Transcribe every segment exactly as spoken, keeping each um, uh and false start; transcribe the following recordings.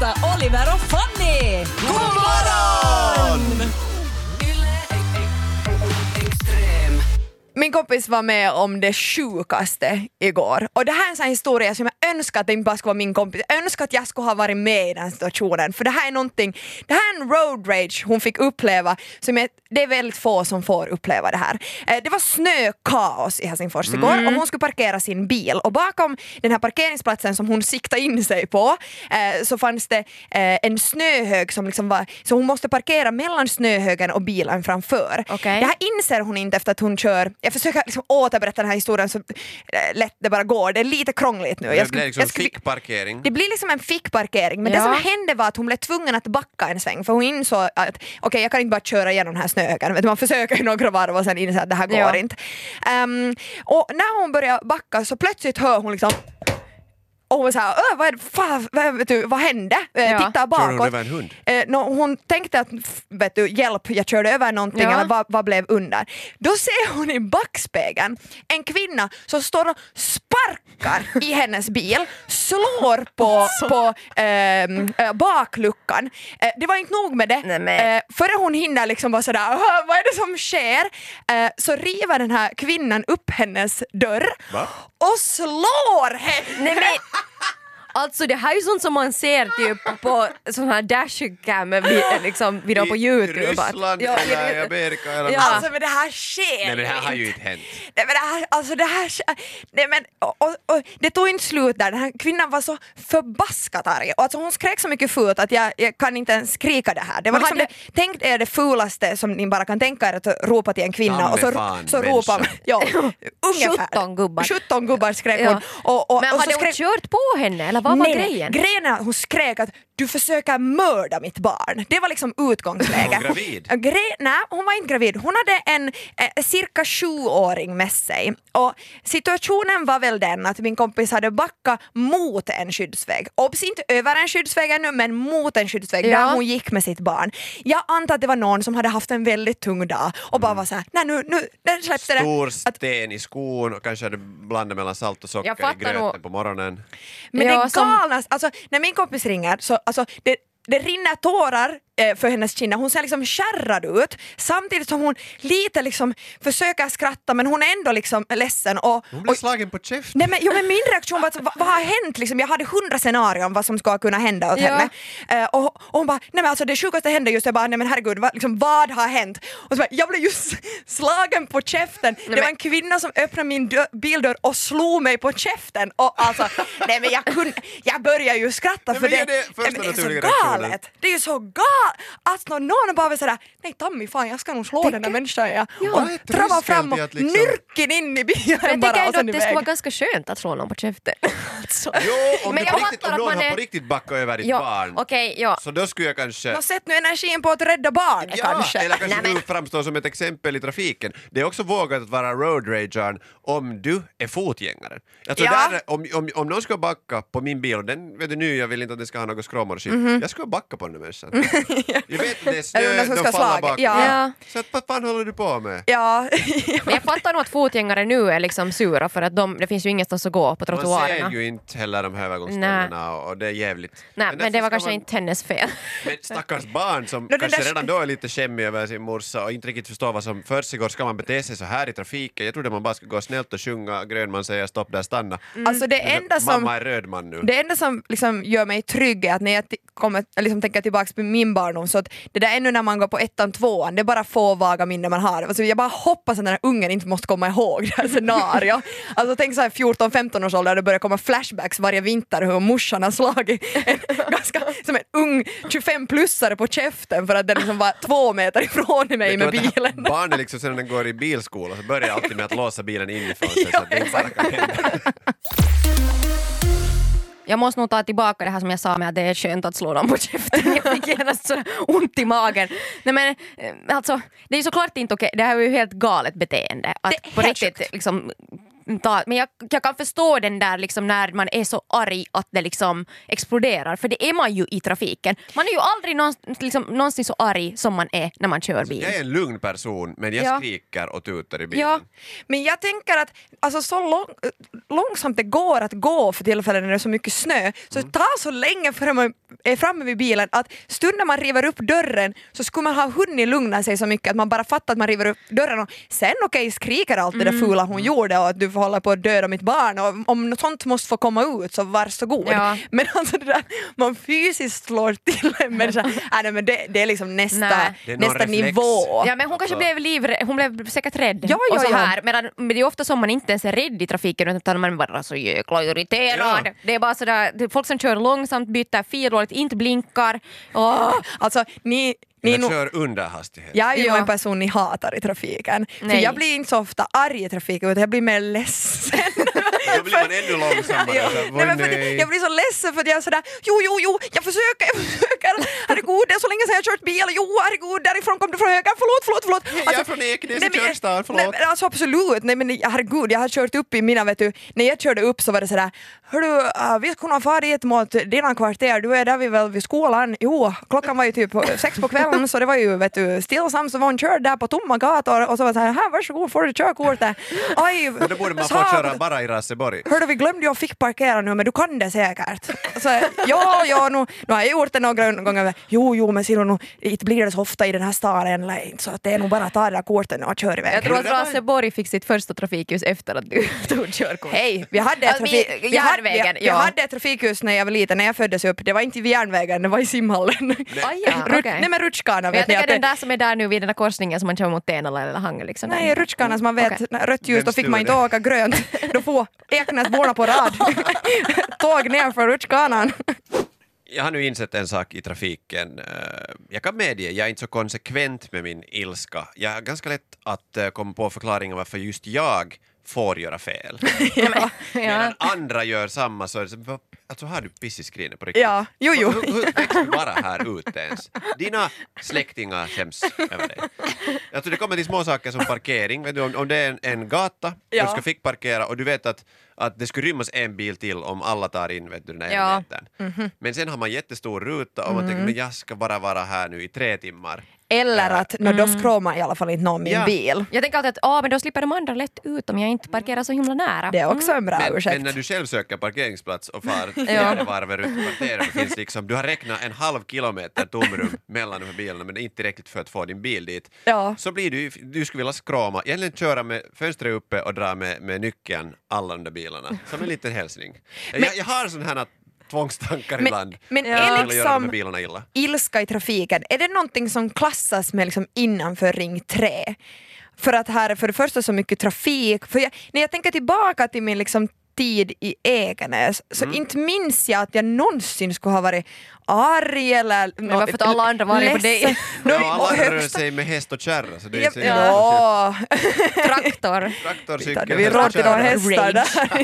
hälsa Oliver och Fanny! God morgon! Min kompis var med om det sjukaste igår. Och det här är en sån här historia som jag önskar att det inte bara skulle vara min kompis. Jag önskar att jag skulle ha varit med i den situationen. För det här är någonting, det här är en road rage hon fick uppleva. Som är, det är väldigt få som får uppleva det här. Eh, det var snökaos i Helsingfors igår. Mm. Och hon skulle parkera sin bil. Och bakom den här parkeringsplatsen som hon siktade in sig på eh, så fanns det eh, en snöhög som liksom var... Så hon måste parkera mellan snöhögen och bilen framför. Okay. Det här inser hon inte efter att hon kör... Jag försöker liksom återberätta den här historien så lätt det bara går. Det är lite krångligt nu. Det jag skulle, blir liksom jag skulle, fickparkering. Det blir liksom en fickparkering. Men ja. det som hände var att hon blev tvungen att backa en sväng. För hon insåg att okej, okay, jag kan inte bara köra igenom den här snöhögen. Man försöker några varv och sen inser att det här går ja. inte. Um, och när hon börjar backa så plötsligt hör hon liksom... Och hon var såhär, vad, är det, fan, vad, vet du, vad hände? Ja. Titta bakåt. Körde hon över en hund? Eh, no, hon tänkte att, vet du, hjälp, jag körde över någonting ja. eller vad, vad blev under? Då ser hon i backspegeln en kvinna som står och sparkar i hennes bil, slår på, på eh, bakluckan. Eh, det var inte nog med det. Nej, men... eh, före hon hinner liksom vara sådär, vad är det som sker? Eh, så river den här kvinnan upp hennes dörr. Va? Och slår henne. Nej, men... Alltså det här är ju sånt som man ser typ på sån här dashcam liksom video på YouTube. I Ryssland ja, eller i Amerika eller ja. Alltså men det här sker. Nej men det här har ju inte hänt. Nej men det här, alltså det här, nej men och, och, och, det tog inte slut där. Den här kvinnan var så förbaskat arg. Och alltså hon skrek så mycket fult att jag, jag kan inte ens skrika det här. Det var liksom hade... det, tänk er det fulaste som ni bara kan tänka er att ropa till en kvinna. Damme och så, fan, så ropar man, ja, ungefär. sjutton gubbar. sjutton gubbar skrek Ja. hon. Och, och, Men och hade så hon skrek, kört på henne eller vad var nej, grejen? Grejen är att hon skrek att du försöker mörda mitt barn. Det var liksom utgångsläge. Var hon gravid? Hon, gre- nej, hon var inte gravid. Hon hade en eh, cirka sjuåring med sig. Och situationen var väl den att min kompis hade backat mot en skyddsväg. Obs, inte över en skyddsväg ännu, men mot en skyddsväg ja. där hon gick med sitt barn. Jag antar att det var någon som hade haft en väldigt tung dag och bara var så här, nej nu, nu den släppte det. Stor sten i skon och kanske hade blandat mellan salt och socker i gröten nog. på morgonen. Men Ja, det som- galnas, alltså när min kompis ringer så alltså det det rinner tårar eh, för hennes kinder. Hon ser liksom kärrad ut samtidigt som hon lite liksom försöker skratta men hon är ändå liksom ledsen. Och, Hon blev och, slagen på käften. nej, men, jo, men min reaktion var att, vad, vad har hänt? Liksom, jag hade hundra scenarion vad som ska kunna hända åt Ja. henne. Eh, och, och hon bara, nej men alltså det sjukaste hände just, jag bara, nej men herregud, vad, liksom, vad har hänt? Och så bara, jag blev just slagen på käften. Nej, det var men... en kvinna som öppnade min dö- bildörr och slog mig på käften. Och alltså, nej men jag kunde, jag började ju skratta Nej, för men det, det är det första men det är så naturliga reaktionen. galet. Det är ju så galet. Alltså någon bara vill säga, nej Tammy fan jag ska nog slå den där människan. Ja. Ja. Och Vad är trava tröskeln fram och till att liksom- nyrken in i bilen Men jag bara tänker och ändå sen att det iväg. skulle vara ganska skönt att slå någon på käften. Alltså. Jo, om, Men du jag på riktigt, fattar om att någon man har är- på riktigt backat över ditt Ja, barn okej, ja. så då skulle jag kanske... Nå, sätt nu energin på att rädda barnet Ja, kanske. eller kanske Nej, men- du framstår som ett exempel i trafiken. Det är också vågat att vara road ragern om du är fotgängaren. Jag tror Ja. där, om, om, om någon ska backa på min bil, och den vet du nu, jag vill inte att den ska ha något skråmor och shit. Mhm. Jag ska backa på den där människan. Jag vet att det är Eller snö, någon som de ska faller slaga. bak. Ja. Ja. Så att, vad fan håller du på med? Ja. Men jag fattar nog att fotgängare nu är liksom sura för att de, det finns ju ingenstans att gå på Man trottoarerna. ser ju inte heller de här övergångsställena och, och det är jävligt. Nej, men, därför det var ska kanske man- inte hennes fel. Men stackars barn som det kanske där- redan då är lite skämmig över sin morsa och inte riktigt förstår vad som försiggår. Ska man bete sig så här i trafiken? Jag trodde man bara skulle gå snällt och sjunga Grönman säger stopp där, stanna. Alltså det Men enda som Mamma är röd man nu. Det enda som liksom gör mig trygg är att när jag t- kommer, liksom tänker tillbaka på min barndom så att det där ännu när man går på ettan, tvåan, det är bara få vaga minnen man har. Alltså jag bara hoppas att den här ungen inte måste komma ihåg det här scenario. Alltså tänk så här fjorton femton års ålder, det börjar komma flashbacks varje vinter hur morsan har slagit en, ganska som en ung tjugofem-plussare på käften för att den liksom var två meter ifrån mig Vet med du att det här bilen. Barnet liksom sen när den går i bilskola så börjar jag alltid med att låsa bilen inifrån sig så att det inte bara kan hända. Jag måste nog ta tillbaka det här som jag sa med att det är skönt att slå dem på käften. Jag fick genast så ont i magen. Nej, men alltså, det är ju såklart inte okej. Det här är ju helt galet beteende. Att Det är på helt riktigt sjukt. liksom ta, men jag, jag kan förstå den där liksom när man är så arg att det liksom exploderar, för det är man ju i trafiken. Man är ju aldrig någonsin, liksom, någonsin så arg som man är när man kör bil. Jag är en lugn person, men jag Ja. skriker och tutar i bilen. Ja. Men jag tänker att alltså, så lång, långsamt det går att gå för tillfällen när det är så mycket snö, så det tar så länge förrän man är framme vid bilen att stunden man river upp dörren så skulle man ha hunnit lugna sig så mycket att man bara fattar att man river upp dörren och sen okej okay, skriker allt det där fula hon gjorde och att du får hålla på att döda mitt barn och om något sånt måste få komma ut så varsågod. Ja. Men alltså det där man fysiskt slår till en människa, äh, nej, men det, det är liksom nästa, Nej. Det är någon nästa reflex. nivå. Ja, men hon kanske blev livrädd, hon blev säkert rädd. Ja, ja, och så ja. här. Medan, men det är ofta som man inte ens är rädd i trafiken utan man bara så jäkla irriterad. Ja. Det är bara sådär, det är folk som kör långsamt, byter fil och inte blinkar. Åh. Alltså ni, ni Jag nog- kör under hastighet. Jag är ju Ja. en person ni hatar i trafiken. För Nej. jag blir inte så ofta arg i trafiken utan jag blir mer ledsen. Då blir man ännu långsammare. Ja. Så, Nej, men för nej. det, jag blir så ledsen för att jag är sådär, jo, jo, jo, jag försöker, jag försöker. Herregud, det är så länge sedan jag har kört bil. Jo, herregud, därifrån kom du från höger. Förlåt, förlåt, förlåt. Jag är från Ekenäs i nej, men- Körstad, förlåt. Nej, men alltså absolut. Nej, men herregud, jag har kört upp i mina, vet du, när jag körde upp så var det sådär, hörru, uh, vi kunde ha farit mot dina kvarter, du är där vi väl vid skolan. Jo, klockan var ju typ sex på kvällen så det var ju, vet du, stillsamt så var hon körd där på tomma gator och så var det såhär, här varsågod får du körkortet. Aj, Men då borde man få sa- köra bara i Raseborg. Hörde, vi glömde ju att fick parkera nu, men du kan det säkert. Så, ja, ja, nu, nu har jag gjort det några gånger. Jo, jo, men ser du, nu, inte blir det så ofta i den här staden eller inte, så att det är nog bara att ta det där kortet och köra iväg. Jag tror att Raseborg fick sitt första trafikljus efter att du tog körkort. Hej, vi hade, Alltså, trafik, vi- vi, hade, järnvägen, vi, vi ja. hade ett trafikljus när jag var liten, när jag föddes upp. Det var inte vid järnvägen, det var i simhallen. Aj, ja, Rut- okej. Nej men rutschkana Men vet jag ni tänker att den det, där som är där nu vid den där korsningen som man kör mot Tenala eller Hangö liksom. nej, rutschkana som man vet, Okej. rött ljus, Vem då fick man stod inte det? åka grönt. Då får Eknäsborna på rad tåg ner för rutschkanan. Jag har nu insett en sak i trafiken. Eh, Jag kan medge, jag är inte så konsekvent med min ilska. Jag har ganska lätt att eh, komma på förklaringen varför just jag får göra fel. Ja. Medan andra gör samma så är det så, "Va- alltså har du piss i skrinet på riktigt? Ja, jo, jo. Hur, hur växte du bara här ute ens? Dina släktingar skäms över dig. Alltså det kommer till små saker som parkering. Vet du, om, om det är en, en gata, Ja. du ska fick parkera och du vet att, att det skulle rymmas en bil till om alla tar in, vet du, den här Ja. metern. Men sen har man jättestor ruta och man tänker men jag ska bara vara här nu i tre timmar. Eller att no, då skråmar i alla fall inte någon min Ja. bil. Jag tänker alltid att ah, men då slipper de andra lätt ut om jag inte parkerar så himla nära. Det är också en bra Men, ursäkt. men när du själv söker parkeringsplats och far fjärde varvet runt kvarteret, det finns liksom, du har räknat en halv kilometer tomrum mellan de här bilarna men det är inte tillräckligt för att få din bil dit. Ja. Så blir du, du skulle vilja skråma, egentligen köra med fönstret uppe och dra med, med nyckeln alla de där bilarna. Som en liten hälsning. jag, jag har sån här tvångstankar Men- ibland. men Jag är vill göra de här liksom- bilarna illa. Ilska i trafiken, är det någonting som klassas med liksom innanför ring tre? För att här är för det första så mycket trafik. För jag, när jag tänker tillbaka till min liksom tid i Ekenäs så Mm. inte minns jag att jag någonsin skulle ha varit arg eller Men varför att alla andra var arga på dig? ledsen. Ja, No, och alla rör högst- sig med häst och kärra. Så det är Ja, så ja. Traktor. traktorcykel, Vi häst och råd till några kärra. hästar där.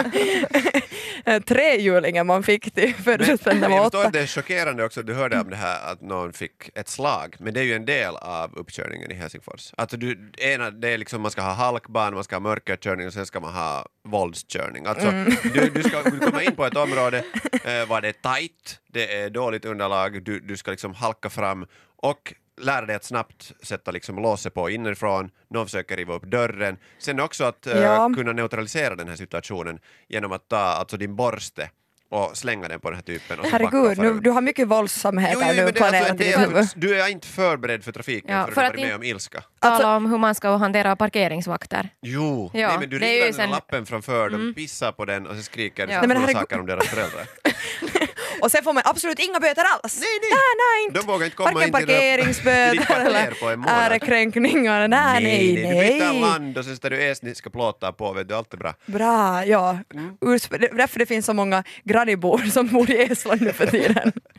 Inte. Trehjulingen man fick till födelsedagen när Men man jag var förstår åtta. att det är chockerande också att du hörde om det här att någon fick ett slag, men det är ju en del av uppkörningen i Helsingfors. Alltså du, ena, det är liksom man ska ha halkbana, man ska ha mörkerkörning och sen ska man ha våldskörning. Alltså Mm. du, du ska komma in på ett område eh, var det är tajt, det är dåligt underlag, du, du ska liksom halka fram och lära dig att snabbt sätta liksom låset på inifrån, någon försöker riva upp dörren. Sen också att eh, Ja. kunna neutralisera den här situationen genom att ta alltså din borste och slänga den på den här typen. Och så backa Herregud, och fara nu, ut. du har mycket våldsamheter Jo, jo, nu men det är alltså planerat en i ditt del, huvud. du är inte förberedd för trafiken Ja, för, för att att du varit med in- om ilska. Tala Alltså- om hur man ska hantera parkeringsvakter. Jo, Ja, nej, men du det är ju river den sen- lappen framför, de pissar på den och så skriker Ja. de Nej, men ja. herregud- saker om deras föräldrar. Och sen får man absolut inga böter alls. Nej, nej. nej, nej inte. De vågar inte komma Varken in till det- till ditt parkeringsböter kvarter eller på en månad. ärekränkningar. Nej, nej, Du nej. byter land och sen står du estniska plåtar på, vet du, allt är bra. Bra, ja. Mm. Urs- Därför det finns så många grannibor som bor i Estland nu för tiden.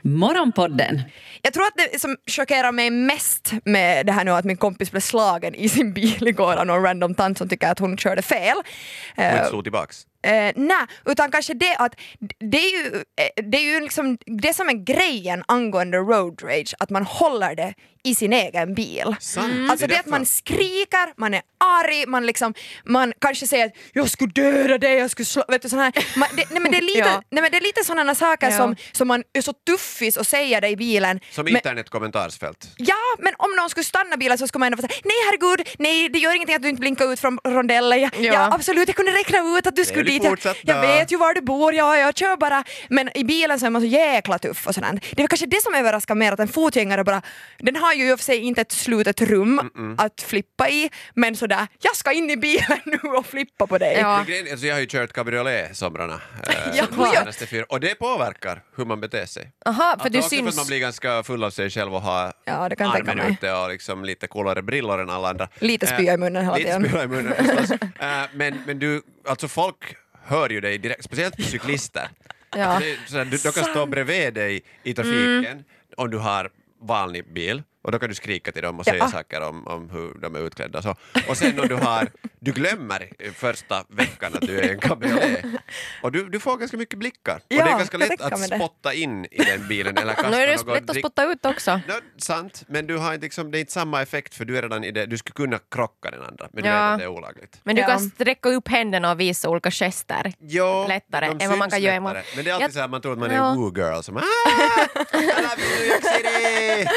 Morgonpodden. Jag tror att det som chockerar mig mest med det här nu att min kompis blev slagen i sin bil igår av någon random tant som tycker att hon körde fel. Och inte slog tillbaks. Eh, nej, utan kanske det att det är ju, eh, det är ju liksom det som är grejen angående road rage, att man håller det i sin egen bil. Sant. Alltså Det är det att man därför. skriker, man är arg, man liksom, man kanske säger att jag skulle döda dig, jag skulle slå, vet du sån här. Man, det, nej men det är lite, Ja. nej men det är lite sådana saker Ja. som, som man är så tuffis och säger det i bilen. Som Men- internetkommentarsfält. Ja, men om någon skulle stanna bilen så skulle man ändå få säga nej herregud, nej det gör ingenting att du inte blinkar ut från rondellen. Ja, Ja. ja absolut, jag kunde räkna ut att du skulle du dit. Jag, fortsatt jag då? vet ju var du bor, ja, jag kör bara. Men i bilen så är man så jäkla tuff och sådär. Det är kanske det som överraskar mer, att en fotgängare bara, den har ju i och för sig inte ett slutet rum Mm-mm. att flippa i, men sådär, jag ska in i bilen nu och flippa på dig. Ja. Men grejen- alltså jag har ju kört cabriolet somrarna. Eh, Ja, de ja. senaste fyra. Och det påverkar hur man beter sig. Aha, för Att du också för att syns... man blir ganska full av sig själv och har Ja, det kan jag tänka armen mig. ute och liksom lite coolare brillor än alla andra. Lite spya i munnen hela Lite tiden. spya i munnen förstås. Eh, men, men du, alltså folk hör ju dig direkt, speciellt cyklister. Ja. Det är sådär, du, de kan stå bredvid dig i trafiken om du har vanlig bil. Och då kan du skrika till dem och säga Ja. saker om, om hur de är utklädda. Så. Och sen om du har, du glömmer första veckan att du är en cabriolet. Och du, du får ganska mycket blickar. Ja, och det är ganska jag lätt tänker att mig det. spotta in i den bilen eller kasta Nu är det någon lätt att drick- spotta ut också. No, sant, men du har inte liksom, det är inte samma effekt för du är redan i det, du skulle kunna krocka den andra men du Ja. vet att det är olagligt. Men du Ja. kan sträcka upp händerna och visa olika gester. Jo, Lättare de än vad man kan syns göra i morgon. lättare. Men det är alltid Jag- så här, man tror att man är Ja. en woo-girl som ah, I love you New York City!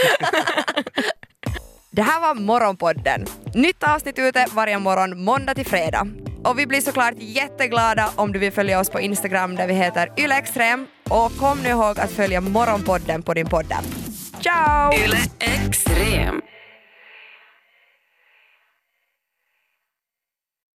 Det här var Morgonpodden. Nytt avsnitt ute varje morgon måndag till fredag. Och vi blir såklart jätteglada om du vill följa oss på Instagram där vi heter ylextrem. Och kom nu ihåg att följa Morgonpodden på din podd. Ciao! Yle Extrem.